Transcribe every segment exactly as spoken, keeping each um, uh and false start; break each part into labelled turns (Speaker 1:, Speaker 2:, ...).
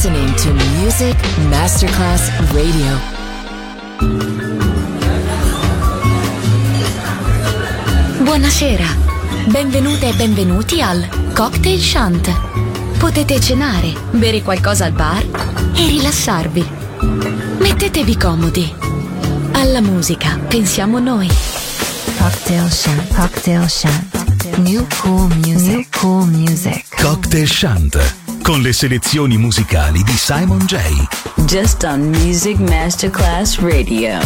Speaker 1: listening to Music Masterclass Radio.
Speaker 2: Buonasera, benvenute e benvenuti al Cocktail Shant. Potete cenare, bere qualcosa al bar e rilassarvi. Mettetevi comodi. Alla musica pensiamo noi.
Speaker 3: Cocktail Shant, Cocktail Shant. New cool music, New cool music.
Speaker 4: Cocktail Shant, con le selezioni musicali di Simon J.
Speaker 5: Just on Music Masterclass Radio.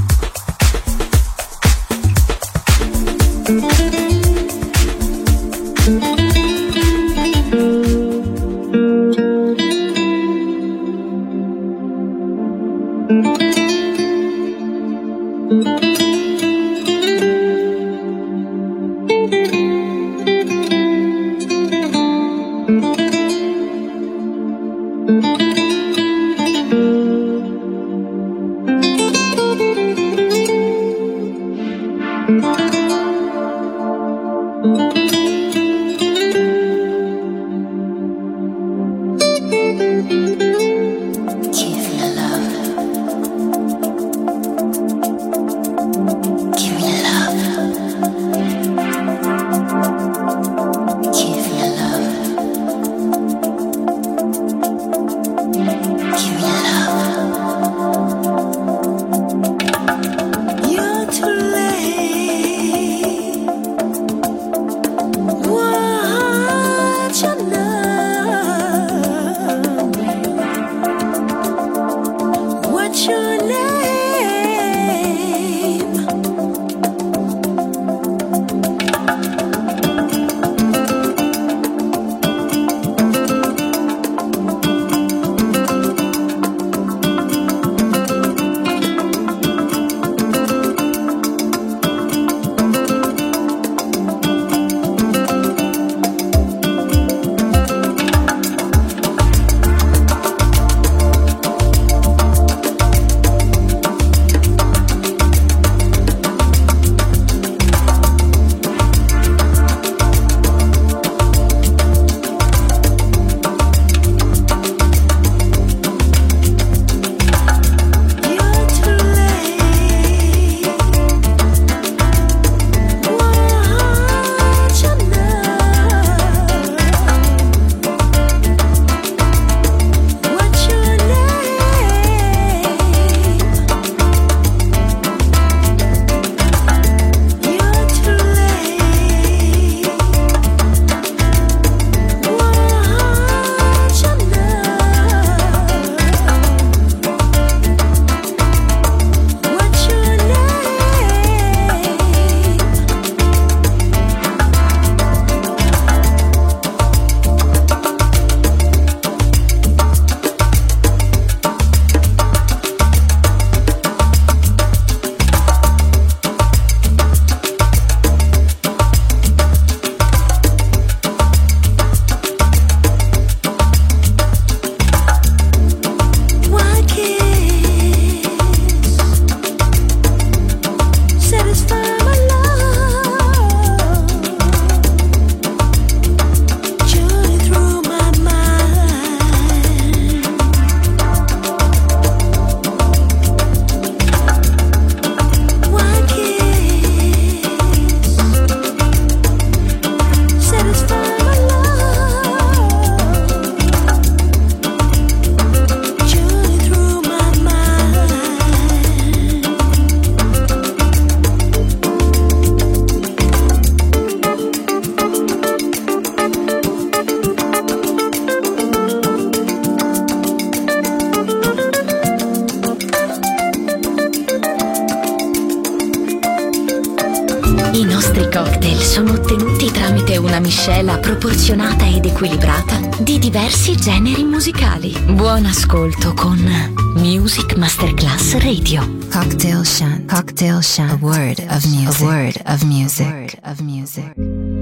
Speaker 2: I nostri cocktail sono ottenuti tramite una miscela proporzionata ed equilibrata di diversi generi musicali. Buon ascolto con Music Masterclass Radio.
Speaker 3: Cocktail Shant, Cocktail Shant, a word of music, a word of music, a word of music.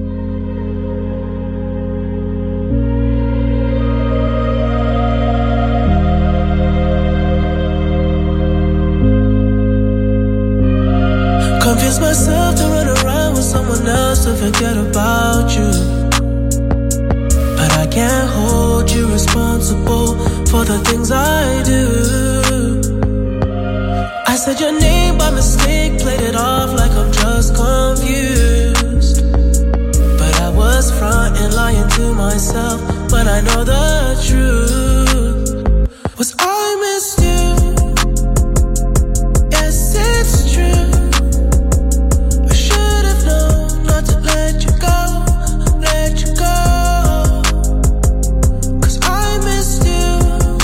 Speaker 6: Convince myself to run around with someone else to forget about you, but I can't hold you responsible for for the things I do. I said your name by mistake, played it off like I'm just confused. But I was fronting, lying to myself, but I know the truth. Was I missed you? Yes, it's true. I should have known not to let you go, let you go. Cause I missed you,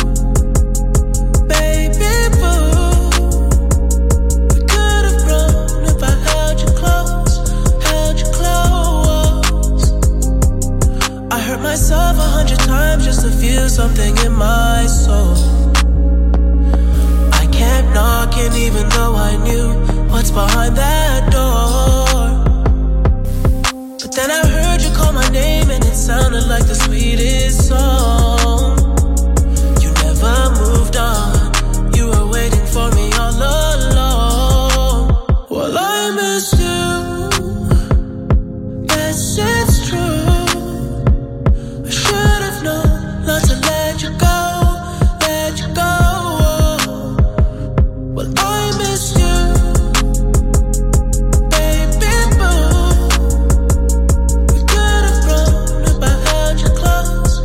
Speaker 6: baby boo. We could have grown if I held you close, held you close. I hurt myself a hundred times just to feel something in my soul. I kept knocking even though I knew what's behind that door. But then I heard you call my name and it sounded like the sweetest song. You never moved on, you were waiting for me all along. Well, I missed you, yes it's true. I should have known not to let you go, let you go. Well, I miss you, baby boo. We could have grown if I held you close,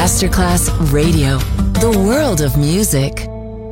Speaker 1: Masterclass Radio, the world of music.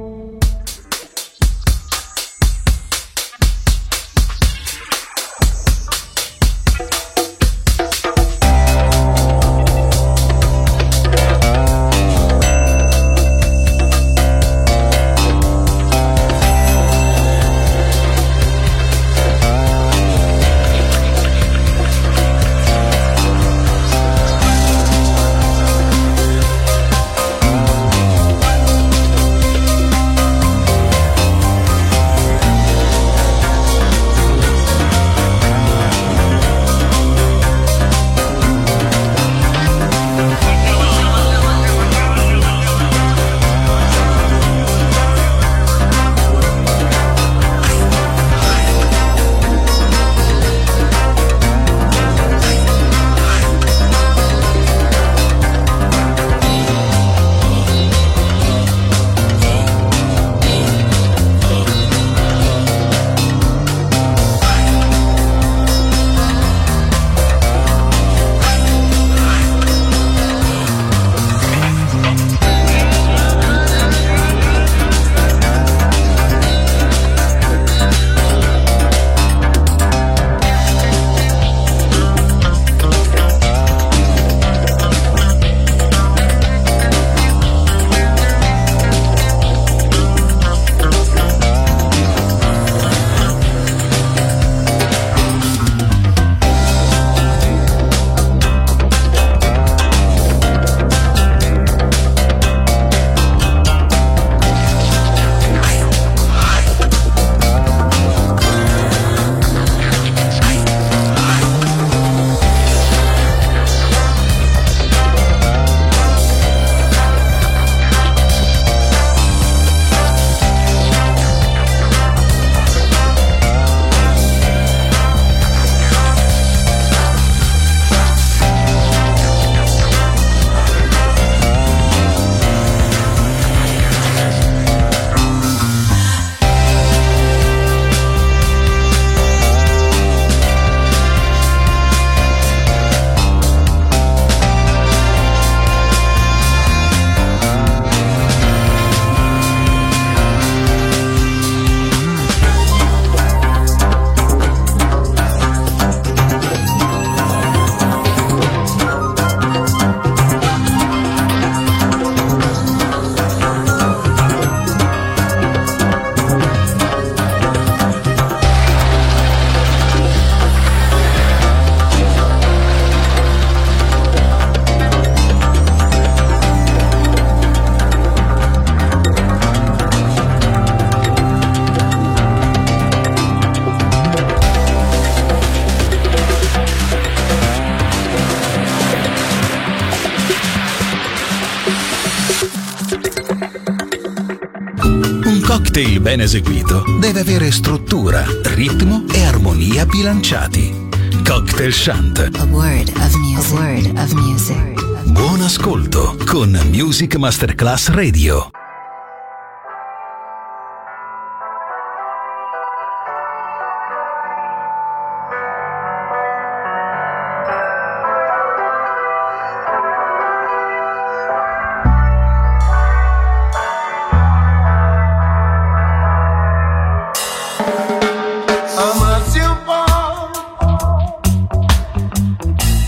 Speaker 4: cocktail ben eseguito deve avere struttura, ritmo e armonia bilanciati. Cocktail Shant.
Speaker 3: A word of music. A word of music.
Speaker 4: Buon ascolto con Music Masterclass Radio.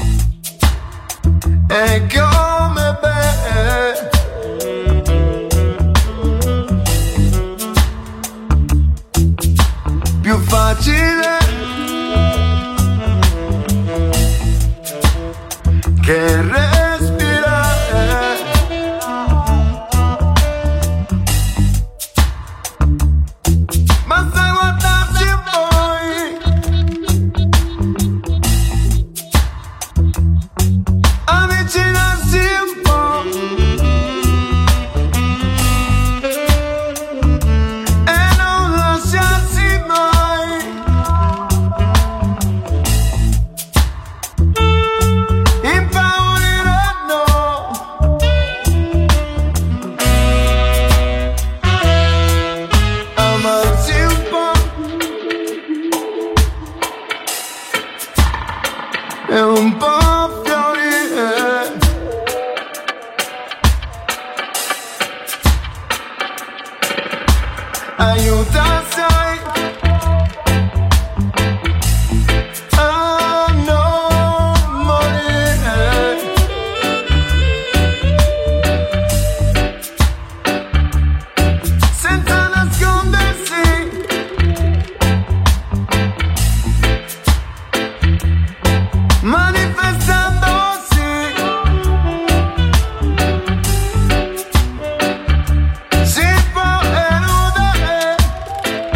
Speaker 7: E come bene aiuta sai. A non morire. Senza nascondersi. Manifestandosi. Si può eludere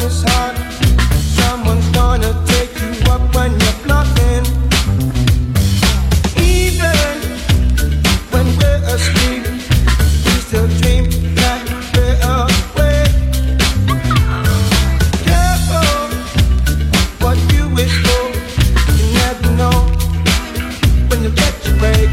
Speaker 7: is hard. Someone's gonna take you up when you're bluffing. Even when we're asleep, we still dream that we're awake. Careful what you wish for, you never know when you get your break.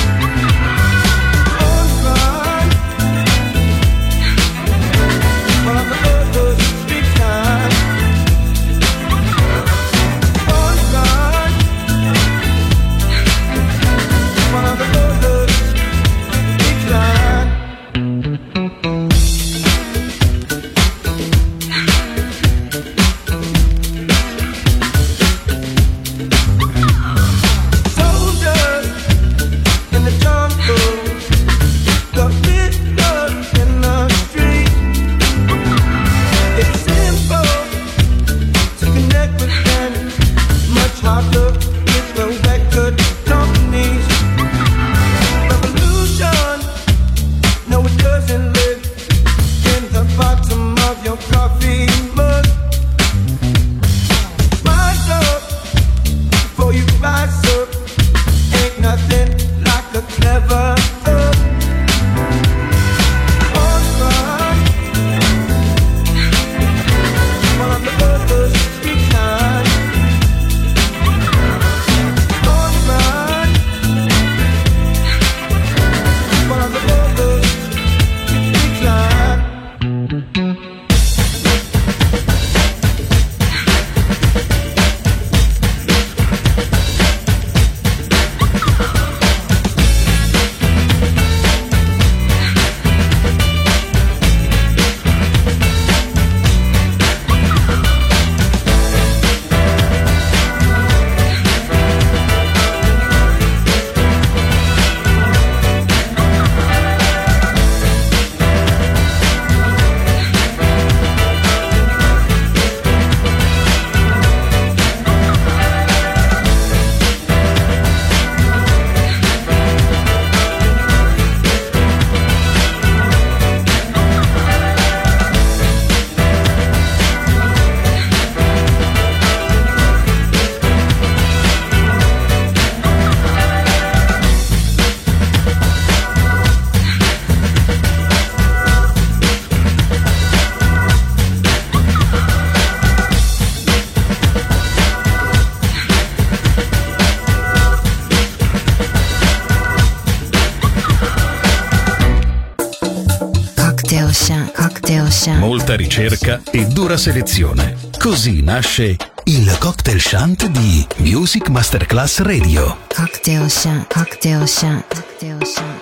Speaker 4: Molta ricerca e dura selezione. Così nasce il Cocktail Shant di Music Masterclass Radio.
Speaker 3: Cocktail Shant, Cocktail Shant, Cocktail Shant.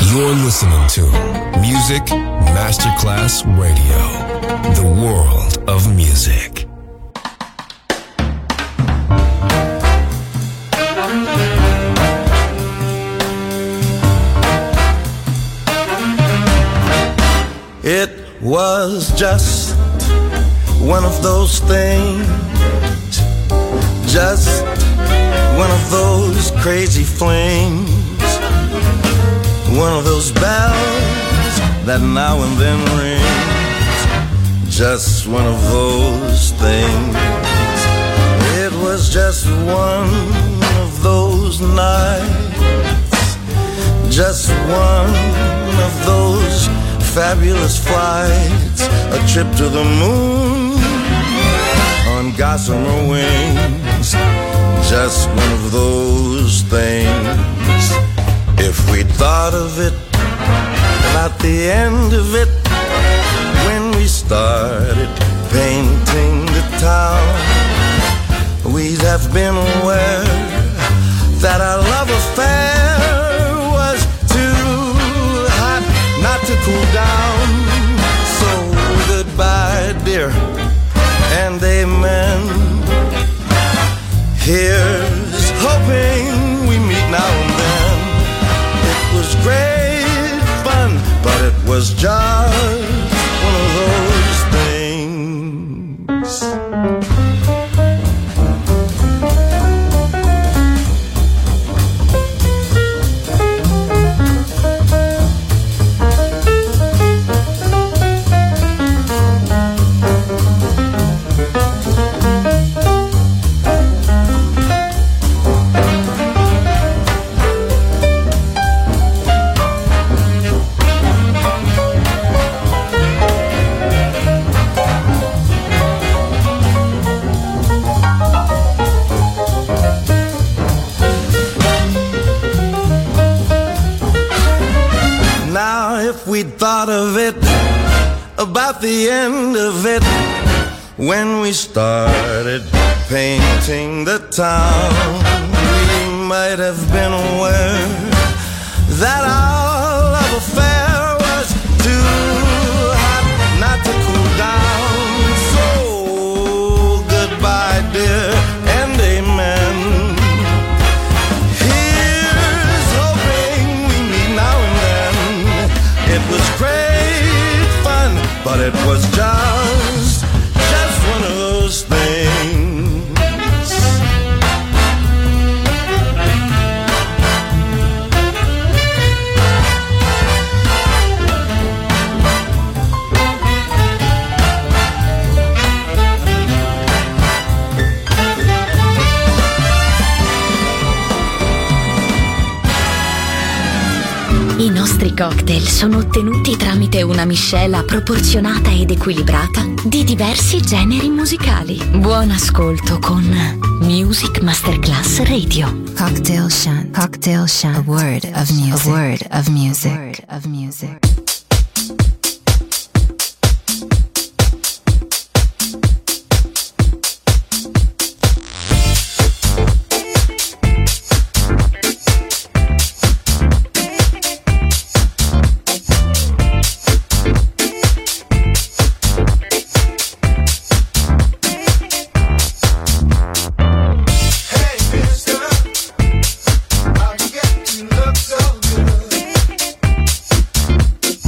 Speaker 8: You're listening to Music Masterclass Radio, the world of music.
Speaker 9: It was just one of those things, just one of those crazy flings, one of those bells that now and then rings, just one of those things. It was just one of those nights, just one of those fabulous flights, a trip to the moon on gossamer wings, just one of those things. If we thought of it, about the end of it, when we started painting the town, we'd have been aware that our love affair was too hot not to cool down. So goodbye, dear, and amen. Here's hoping we meet now and then. It was great fun, but it was just one of those things. We'd thought of it, about the end of it, when we started painting the town. We might have been aware that our love affair was too hot not to cool down. So goodbye, dear, and amen. Here's hoping we meet now and then. It was great fun, but it was just, just one of those things.
Speaker 2: I nostri cocktail sono ottenuti tramite una miscela proporzionata ed equilibrata di diversi generi musicali. Buon ascolto con Music Masterclass Radio.
Speaker 3: Cocktail Shant. Cocktail Shant. A word of music. A word of music. A word of music.
Speaker 7: Look so good.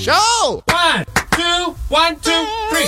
Speaker 10: show!
Speaker 11: One, two, one, two, three.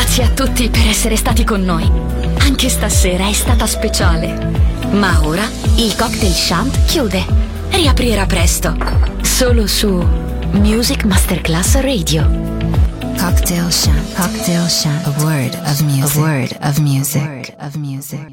Speaker 2: Grazie a tutti per essere stati con noi. Anche stasera è stata speciale. Ma ora il Cocktail Shant chiude. Riaprirà presto. Solo su Music Masterclass Radio.
Speaker 3: Cocktail Shant. Cocktail Shant. A word of music. A word of music. A word of music.